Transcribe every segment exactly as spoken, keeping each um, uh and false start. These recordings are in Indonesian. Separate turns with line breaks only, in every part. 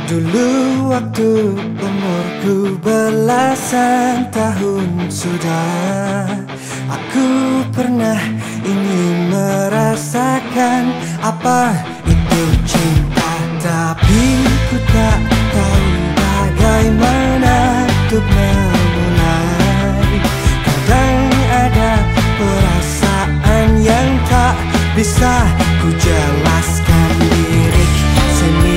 Dulu waktu umurku belasan tahun sudah, aku pernah ingin merasakan apa itu cinta. Tapi ku tak tahu bagaimana untuk memulai. Kadang ada perasaan yang tak bisa ku jelaskan. Lirik sini,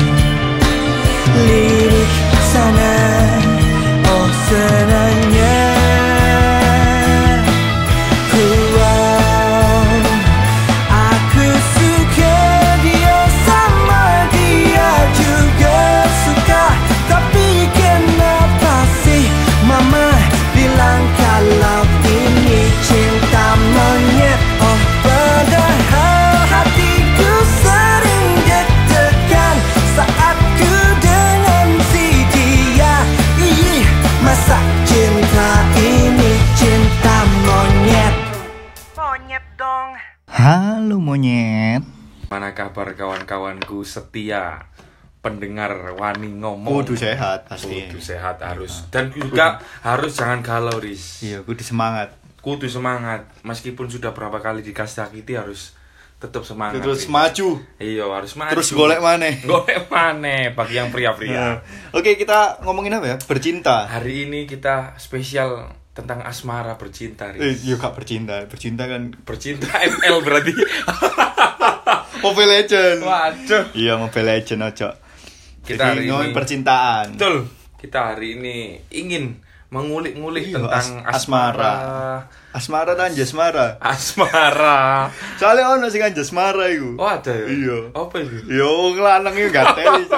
lirik sana, oh senangnya ku, oh, aku suka dia sama dia juga suka. Tapi kenapa sih mama bilang kalau ini cinta monyet? Oh padahal hatiku sering deg-degan saat ku dengan si dia. Ih, masa cinta ini cinta monyet? Monyet dong.
Halo monyet.
Mana kabar kawan-kawanku setia pendengar Wani ngomong?
Kudu sehat pasti.
Kudu sehat harus. Dan juga harus jangan galau, Riz.
Iya, kudu semangat.
Kudu semangat. Meskipun sudah berapa kali dikasih sakiti harus tetap semangat.
Terus
Riz.
maju.
Iya, harus maju.
Terus golek maneh.
Golek maneh bagi yang pria-pria.
Nah, Oke, kita ngomongin apa ya? Bercinta.
Hari ini kita spesial tentang asmara bercinta,
Eh,
Riz.
iya gak bercinta. Bercinta kan
Bercinta M L berarti.
Mobile Legend.
Waduh.
Iya, Mobile Legend aja.
Kita
Jadi,
hari
ngomongin
ini
percintaan.
Betul. Kita hari ini ingin mengulik-ngulik
Iya,
tentang
as-
asmara.
Asmara dan jasmara.
Asmara.
Soalnya ono sing kan jasmara iku.
Oh, ada ya?
Iya.
Apa itu?
Yo wong lanang iku gak teli.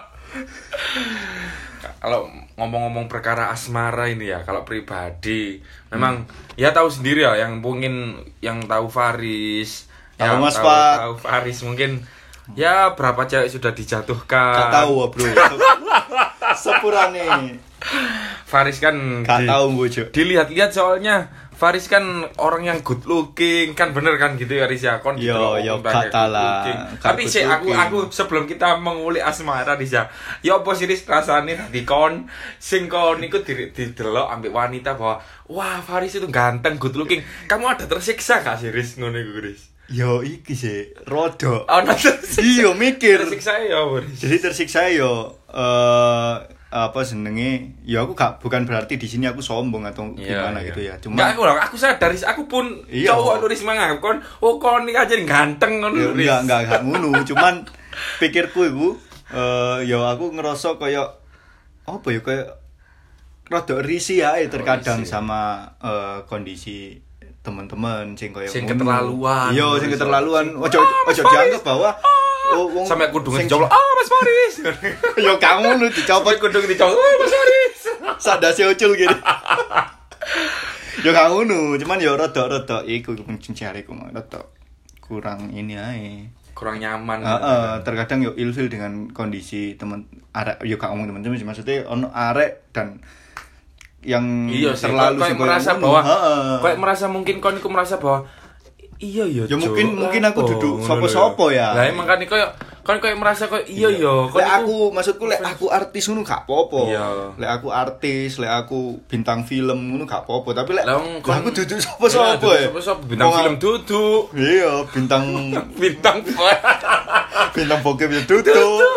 Kalau ngomong-ngomong perkara asmara ini ya, kalau pribadi memang ya tahu sendiri ya, yang mungkin yang tahu Faris,
Tahu
yang
Mas
tahu,
Pak.
tahu Faris mungkin ya berapa cewek sudah dijatuhkan.
Gak tahu, Bro. Sepurane.
Faris kan
Gak
di-
tahu gue, Cuk.
dilihat-lihat soalnya Faris kan orang yang good looking, kan bener kan gitu ya Riz ya, kon
Yo,
gitu
yo,
ngomong banyak
kata
good
lah,
looking.
gak
Tapi
good
sih aku
looking.
aku sebelum kita mengulik asmara Riz ya, ya apa sih Riz rasane tadi kon sing kon iku di- didelok ambek wanita bahwa wah Faris itu ganteng, good looking. Kamu ada tersiksa gak sih Riz ngono iku Riz?
Yo iki sih rodok.
Oh, nah, tersiksa.
Iya mikir.
Tersiksa ya apa, Riz?
Jadi tersiksa yo eh apa senenge ya aku gak bukan berarti di sini aku sombong atau
Iya,
gimana
iya.
gitu ya.
Enggak,
Cuma
aku loh, aku sadar Riz, aku pun
Iya.
cowok lu Riz manganggap kon, oh kon iki aja ganteng ngono
ya,
Riz.
enggak enggak enggak ngono. Cuman pikirku iku eh ya aku ngerasa kaya apa ya kaya rada risih ae terkadang
risih.
sama eh, kondisi teman-teman sing kaya
Sing
ngono.
keterlaluan.
Iya, sing
Sing-
keterlaluan.
sing-
Ojo
Ah, Mas
ojo
Faris.
dianggap bahwa oh, wong
Sampai kudung
sing-
dicolok, ah Mas Faris.
ya kamu lu dicopot
Sampai kudung dicolok, ah Mas Faris.
sadase ucul gitu. Ya gak ngono, cuman ya rada-rada iku kuncing jariku mah rada kurang ini ae.
Kurang nyaman.
Heeh, terkadang yo ilfil dengan kondisi temen arek yo gak ngomong temen-temen sih, maksudnya ono arek dan yang
Iya sih,
terlalu
kayak
sing
merasa
ngono.
bahwa
Heeh.
kayak merasa mungkin kon iku merasa bahwa iya ya.
Ya
Cuk,
mungkin mungkin aku
lapo,
duduk
ngono
sopo-sopo
lho.
ya.
Lah emang kan kayak kan kayak merasa kayak iya ya, kon
Lek
iku-
aku maksudku lek aku artis ngono gak apa-apa.
Iya.
Lek aku artis, lek aku bintang film ngono gak apa-apa, tapi lek
Lah,
lek
kon-
aku duduk
Iya,
sopo-sopo
duduk
ya.
sopo-sopo bintang
Wong-
film duduk.
Iya, bintang
Bintang
bintang bokep ya duduk.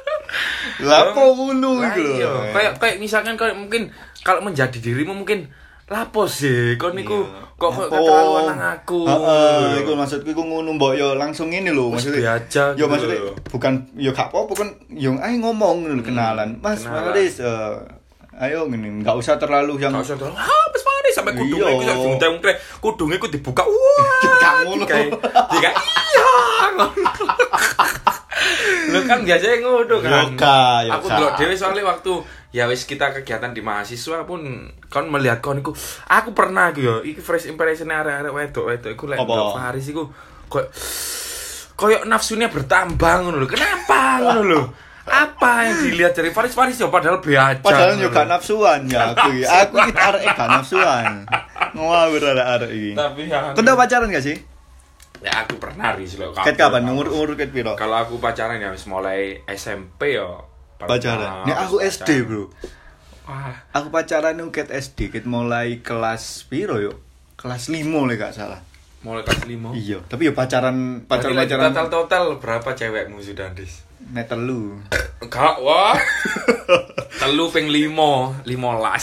Lah apa ngono
Lah
iku lho.
iya, kayak kayak misalkan kayak mungkin kalau menjadi dirimu mungkin lapo sih kon niku
Iya.
kok kok
Lapo?
keterlaluan nang aku.
Heeh, iku maksudku iku ngono mbok yo langsung ngene lho,
Wis
maksudnya.
biasa
Yo
gitu
maksudnya
lho.
bukan yo gak apa-apa kan yo ae ngomong ngono lho, kenalan. Mas
kenalan.
Faris eh, ayo ngene enggak usah terlalu yang
Gak usah terlalu, ah Mas Faris sampai kudungnya
Iya.
iku sak diuntek-untek, kudungnya iku dibuka. Wah,
Gak ngono.
Kayak kayak iya. Lu kan biasanya ngono kan.
Yoga, yoga.
Aku delok dhewe soalnya waktu ya wis kita kegiatan di mahasiswa pun kon melihat kon iku aku pernah iku yo iki first impression arek-arek wedok-wedok iku lek
Apa?
delok Faris iku kok koyo nafsunya bertambah ngono lho. Kenapa ngono lho? Apa yang dilihat dari Faris Faris yo padahal be aja.
padahal yo
ngono
gak
lho.
nafsuan ya aku iki. Aku iki arek gak nafsuan. Ngawur arek iki.
Tapi ya
Kau udah pacaran gak sih?
ya aku pernah ris lho.
Ket kapan? Umur umur ket piro?
Kalau aku pacaran ya wis mulai S M P yo.
pacaran. Nek aku S D, Bro.
Wah,
Aku pacaran iku ket S D, ket mulai kelas piro yo? Kelas lima lek gak salah.
mulai kelas lima.
Iya, tapi yo pacaran
Berarti lagi
pacaran-pacaran
total total berapa cewekmu sudah, Dis?
nek telu.
Enggak, wah. Telu ping limo, limolas.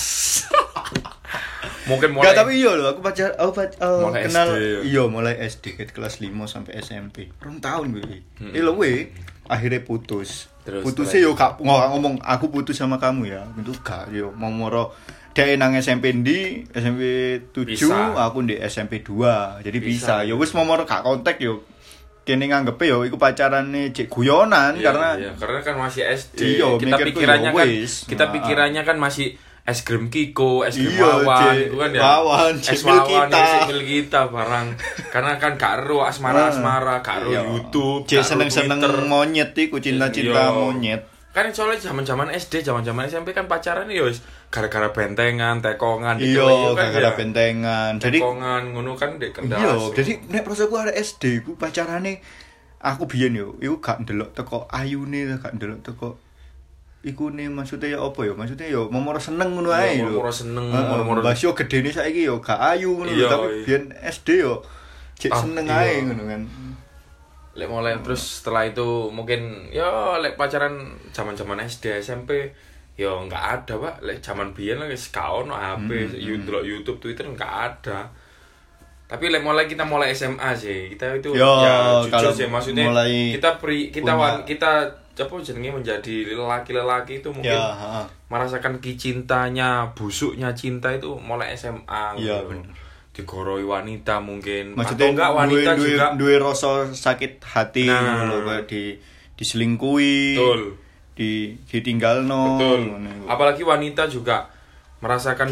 Mungkin mulai.
Enggak, tapi iya lho, aku pacar aku pac- oh,
Mulai
kenal
S D, ya.
iya mulai S D ket kelas lima sampai S M P. Rong tahun gue.
Hmm.
Eh lho we, akhirnya putus.
Terus,
Putusnya yo gak nggak ngomong aku putus sama kamu ya. Itu gak yo mau moro dia nang S M P ndi, S M P tujuh,
Bisa.
aku di S M P dua. Jadi
Bisa.
bisa. Yo wis mau moro gak kontak yo. Kene nganggepe yo iku pacarane cek guyonan
Iya,
karena
iya, karena kan masih S D.
Iya,
kita
mikirku
pikirannya
ya
kan
wis.
kita
Nah.
pikirannya kan masih es krim Kiko, es krim
Iya,
Wawan,
Cek.
itu kan ya.
Wawan,
es
Cek Mil
Wawan,
kita.
es Mil kita barang. Karena kan gak ero asmara-asmara, gak ero
Iya.
YouTube,
Cek
gak ero
seneng-seneng
Twitter.
monyet iku cinta-cinta
Iya.
monyet.
Kan soalnya zaman-zaman S D, zaman-zaman S M P kan pacaran ya wis gara-gara bentengan, tekongan
Iya,
kan
gara-gara
ya.
bentengan. Jadi
Tekongan ngono kan dek kendas.
iya, jadi nek prosoku ada S D ku pacarane aku biyen yo, iku gak ndelok teko ayune, gak ndelok teko iku ne maksudnya ya apa ya? Maksudnya yo momoro seneng ngono ae
Iya,
lho.
momoro seneng,
Heeh,
momoro-
Mbak yo gedene saiki yo gak ayu ngono lho,
Iya,
tapi
iya.
biyen S D yo cek
Ah,
seneng
iya.
ae ngono kan.
Lek mulai terus setelah itu mungkin ya lek pacaran zaman-zaman S D, S M P ya nggak ada, Pak. Lek zaman biyen lagi gak ono H P,
Hmm,
YouTube, YouTube, Twitter nggak ada. Tapi lek mulai kita mulai S M A sih, kita itu
Yo,
ya jujur
kalau
sih maksudnya
mulai
kita pri, kita
punya-
wan, kita apa jenenge menjadi lelaki-lelaki itu mungkin
Ya, heeh.
merasakan kicintanya, busuknya cinta itu mulai S M A.
Iya,
gitu.
bener.
Digoroi wanita mungkin.
Maksudnya
atau enggak wanita
duwe,
juga.
duwe, duwe rasa sakit hati
Nah.
ngono lho, kayak di diselingkuhi.
Betul.
Di ditinggalno.
Betul.
ngono iku.
Apalagi wanita juga merasakan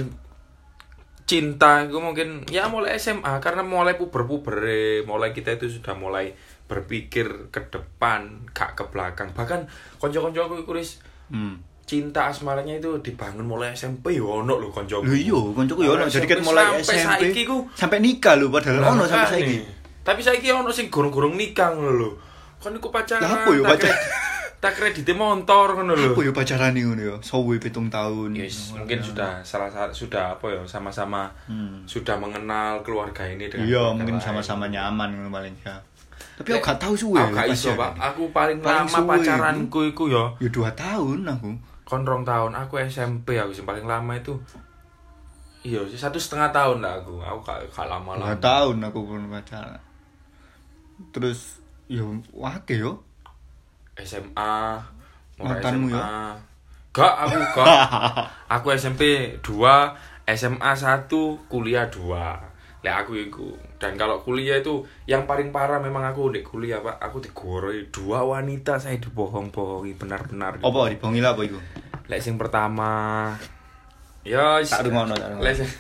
cinta itu mungkin ya mulai S M A karena mulai puber-puber, mulai kita itu sudah mulai berpikir ke depan, gak ke belakang. Bahkan konco-konco aku iku wis
Hmm.
cinta asmaranya itu dibangun mulai S M P yo ono lho konco.
Lho iya, koncoku ya ono. Jadi kan mulai S M P
saiki ku
sampai nikah lho padahal ono sampai saiki.
Tapi saiki ono sing gorong-gorong nikah ngono lho. Kon iku pacaran.
Lah apa yo
tak
pacar-
kredit- Tak kredite motor ngono lho.
Apa ya pacarane ngono ya? Suwe pitung tahun.
Yes, mungkin sudah salah satu sudah apa ya sama-sama
Hmm.
sudah mengenal keluarga ini dengan
Iya,
keluarga
mungkin
lain.
sama-sama nyaman ngono paling ya. Tapi
Lek-
aku gak tahu suwe.
Aku gak iso,
pacaran.
Pak. Aku paling,
Paling
lama
suwe
pacaranku iku ya
Ya dua tahun aku.
kon rong tahun. Aku S M P aku sing paling lama itu iya satu setengah tahun lah aku. Aku gak, gak
Dua
lama-lama.
tahun aku pun pacaran. Terus ya wake yo.
S M A mulai
Mantanmu
S M A.
ya?
Gak, aku gak. Aku S M P dua, S M A satu, kuliah dua. Lek aku iku. Dan kalau kuliah itu yang paling parah memang aku di kuliah, Pak. Aku digoroi dua wanita, saya dibohong-bohongi benar-benar.
Apa dibongi lah apa iku?
Lek sing pertama ya is-
Tak rungono, tak rungono.
Lek sing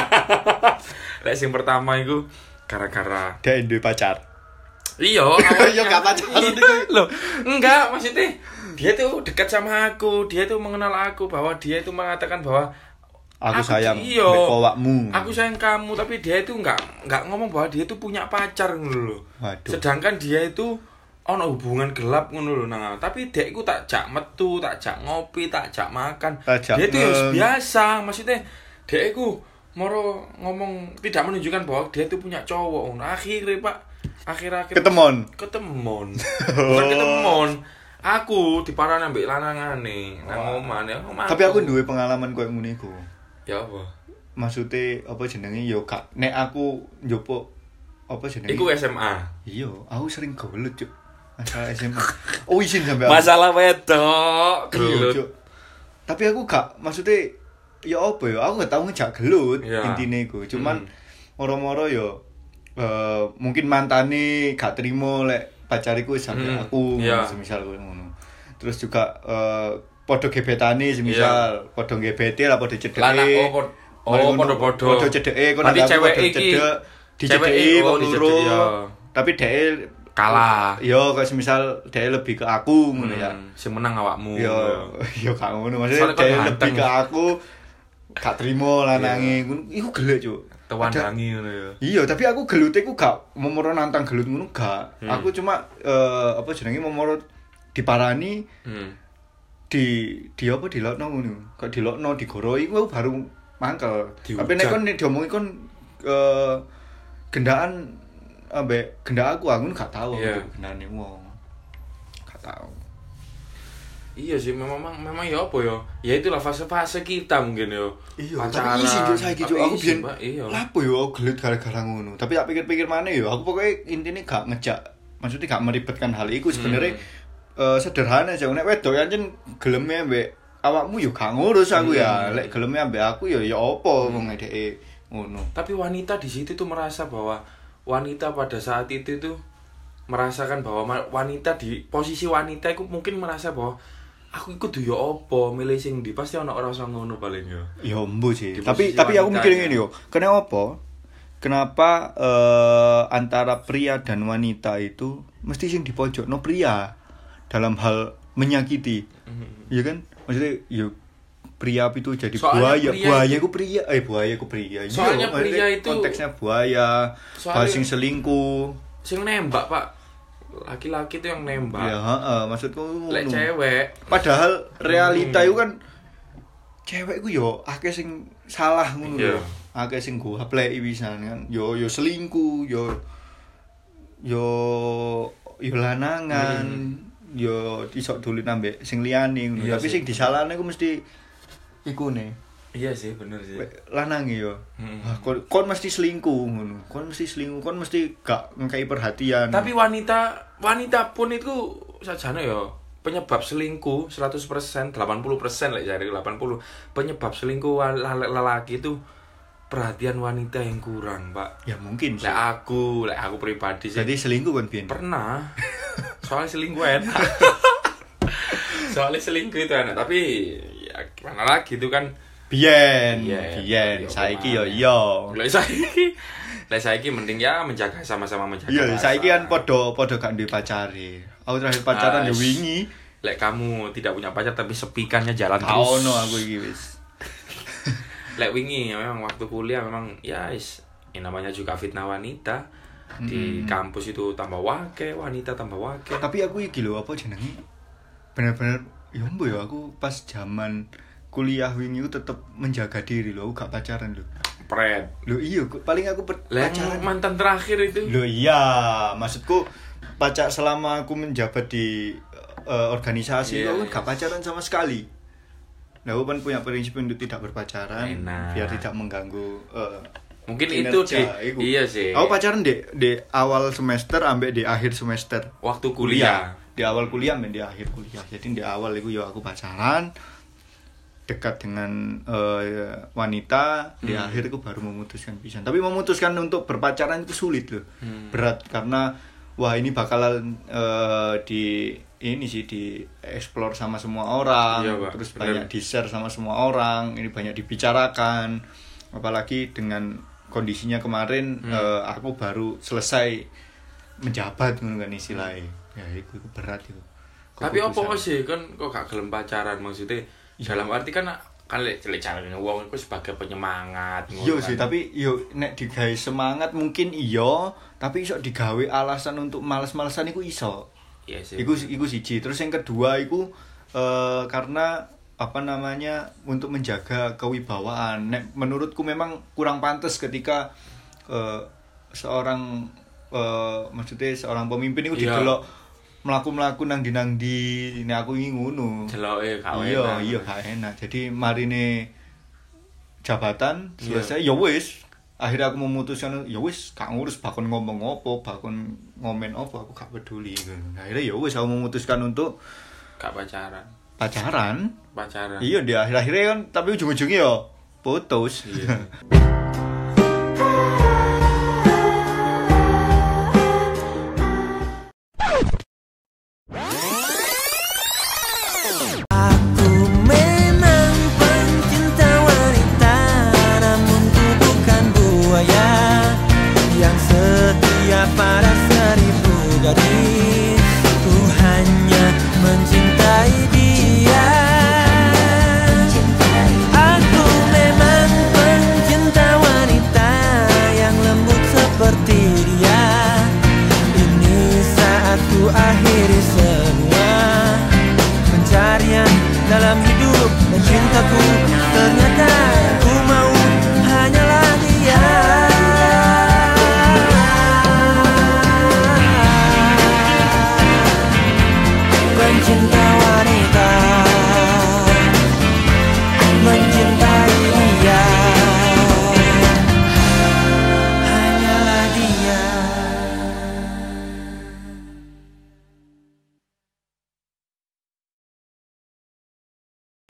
Lek sing pertama iku gara-gara
Dia duwe pacar.
iya,
Iya, gak pacaran
Iya,
itu.
loh. Enggak, maksudnya dia tuh dekat sama aku, dia tuh mengenal aku bahwa dia itu mengatakan bahwa
Aku sayang
iya,
mbek kowakmu.
Aku sayang kamu, tapi dia itu enggak enggak ngomong bahwa dia itu punya pacar ngono lho.
Waduh.
Sedangkan dia itu ono hubungan gelap ngono lho nang. Tapi dia iku tak jak metu, tak jak ngopi, tak jak makan.
Tak jak
Dia itu ya
nge-
biasa, maksudnya dia iku moro ngomong tidak menunjukkan bahwa dia itu punya cowok. Nah, akhirnya Pak, akhir-akhir
Ketemon.
ketemon. Bukan ketemon. Aku diparani ambek lanangane nang omah ya.
Tapi aku duwe pengalaman koyo ngene iku.
Ya apa?
Maksudnya apa jenenge yo gak nek aku njupuk apa jenenge?
Iku S M A.
Iya, aku sering gelut, Cuk. Masalah S M A. Oh, izin sampe aku.
Masalah wedok,
Iya,
gelut.
Cuk. Tapi aku gak maksudnya ya apa ya? Aku gak tau ngejak gelut
Iya.
intine iku. Cuman
Hmm.
moro-moro yo eh mungkin mantane gak trimo lek pacariku sampe
Hmm,
aku
iya.
semisal ngono. Terus juga eh padha gebetane semisal padha gebete lah padha cedeke.
Lanang oh pod- oh podo-podo.
Padha cedeke kon
Berarti
aku
cewek
padha
iki-
cedek,
cewek
dicedeki
iki, oh,
wong
dicedek,
loro.
iya.
Tapi dhek
Kalah.
Iya, kayak semisal dhek lebih ke aku ngono ya.
Hmm, sing menang awakmu.
Yo, yo gak ngono.
Soalnya
Maksudnya
kan
dhek
ganteng.
lebih ke aku gak trimo lanange ngono. Iku gelek, Cuk.
Tewandangi ngono ya.
Iya, tapi aku gelute ku gak momoro nantang gelut ngono gak.
Hmm.
Aku cuma eh apa jenenge momoro diparani
Hmm.
di di apa dilokno ngono. Kok dilokno digoroi ku baru mangkel.
Dihujat.
Tapi nek kon diomongi kon eh gendaan ambek gendak aku aku gak tahu
Iya.
gendane wong. Gak tahu.
Iya sih memang memang ya apa ya? Ya itulah fase-fase kita mungkin ya.
Iya, tapi isi juk saiki juk
Tapi
aku
isi,
biyen.
Pak, iya.
Lapo yo aku gelut gara-gara ngono. Tapi tak pikir-pikir maneh yo, aku pokoknya intine gak ngejak, maksudnya gak meribetkan hal iku sebenarnya
Hmm.
eh, sederhana aja. Nek wedok ancen geleme ambek awakmu yo gak ngurus aku ya.
Hmm.
Lek geleme ambek aku yo ya apa wong ngedeke ngono.
Tapi wanita di situ tuh merasa bahwa wanita pada saat itu tuh merasakan bahwa ma- wanita di posisi wanita itu mungkin merasa bahwa aku ikut yo apa milih sing ndi pasti ana ora usah ngono paling yo.
Ya mbu sih.
Di
Tapi
posisi
tapi aku mikir
wanitanya.
ngene yo. Kenapa? Kenapa eh, antara pria dan wanita itu mesti sing dipojokno pria dalam hal menyakiti. Iya kan? Maksudnya yo pria itu jadi
Soalnya
buaya,
pria
buaya
itu-
ku pria, eh buaya ku pria. Iya,
Soalnya
maksudnya
pria itu-
konteksnya buaya,
Soalnya-
sing selingkuh.
Sing nembak, Pak. Laki-laki tuh yang nembak.
Ya, heeh, maksudku
Lek
ngono.
cewek,
Padahal realita
Hmm.
itu kan cewek ku yo akeh sing salah ngono
Iya.
lho. Akeh sing go hapleki pisan kan. Yo yo selingkuh, yo yo yo lanangan, yo iso dolen ambek sing liyane ngono.
Iya
Tapi
sih.
sing disalahne ku mesti iku ne.
iya sih bener sih.
Lanange yo.
Hmm.
Wah, kon, kon mesti selingkuh ngono. Kon mesti selingkuh, kon mesti gak ngkai perhatian.
Tapi wanita wanita pun itu sajane ya penyebab selingkuh seratus persen, delapan puluh persen lek jare delapan puluh. Penyebab selingkuh wal- lel- lelaki itu perhatian wanita yang kurang, Pak.
ya mungkin sih.
Lek aku, lek aku pribadi sih
Jadi selingkuh kan biyen.
pernah. Soalnya selingkuh enak. Soalnya selingkuh itu enak, tapi ya gimana lagi itu kan
Biyen,
Iya,
biyen,
iya,
saiki
gimana
yo iya.
lek saiki lek saiki mending ya menjaga sama-sama menjaga.
Iya,
rasa.
saiki kan podo podo gak duwe pacare. Aku terakhir pacaran
Ah,
yo wingi.
Lek kamu tidak punya pacar tapi sepikannya jalan
Gak
terus.
ono aku iki wis.
Lek wingi ya memang waktu kuliah memang ya is ini namanya juga fitnah wanita. Di kampus itu tambah wake, wanita tambah wake.
Tapi aku iki lho apa jenenge? Bener-bener yo mbo yo aku pas zaman kuliah wingi ku tetep menjaga diri lho, aku gak pacaran lho.
Pret.
Lho iya, ku- paling aku per-
Lek
pacaran.
mantan terakhir itu.
Lho iya, maksudku pacar selama aku menjabat di eh, organisasi
Iya,
aku kan
iya.
gak pacaran sama sekali. Nah, aku kan punya prinsip untuk tidak berpacaran
Enak.
biar tidak mengganggu eh,
Mungkin
kinerja,
itu di
iku.
iya sih.
Aku pacaran di di awal semester ambek di akhir semester
Waktu kuliah.
Di awal kuliah ambek di akhir kuliah. Jadi di awal itu ya aku pacaran dekat dengan eh, wanita, di
Hmm.
akhir aku baru memutuskan pisan. Tapi memutuskan untuk berpacaran itu sulit loh.
Hmm.
Berat karena wah ini bakalan eh, di ini sih di explore sama semua orang,
Iya, Pak.
terus
Bener.
banyak di share sama semua orang, ini banyak dibicarakan. Apalagi dengan kondisinya kemarin
Hmm.
eh, aku baru selesai menjabat ngono kan istilahnya. Ya itu, itu berat itu.
Tapi apa
Keputusan.
sih kan kok gak gelem pacaran maksudnya dalam arti kan kan lek lek carane wong iku sebagai penyemangat
Iya
ngono
sih,
kan.
tapi yo nek digawe semangat mungkin iya, tapi iso digawe alasan untuk males-malesan iku iso.
Iya sih.
Iku iku siji. Terus yang kedua iku eh, karena apa namanya untuk menjaga kewibawaan. Nek menurutku memang kurang pantas ketika eh, seorang eh, maksudnya seorang pemimpin itu
Iya.
didelok melaku-melaku nang di nang di nek aku ingin ngono.
Jeloke gak
Iya,
enak.
iya gak enak. Jadi marine jabatan
Iya.
selesai ya wis. Akhirnya aku memutuskan ya wis gak ngurus bakon ngomong apa, bakon ngomen apa aku gak peduli. Akhirnya ya wis aku memutuskan untuk
Gak pacaran.
pacaran.
Pacaran.
Iya di akhir-akhirnya kan tapi ujung-ujungnya ya putus.
Iya.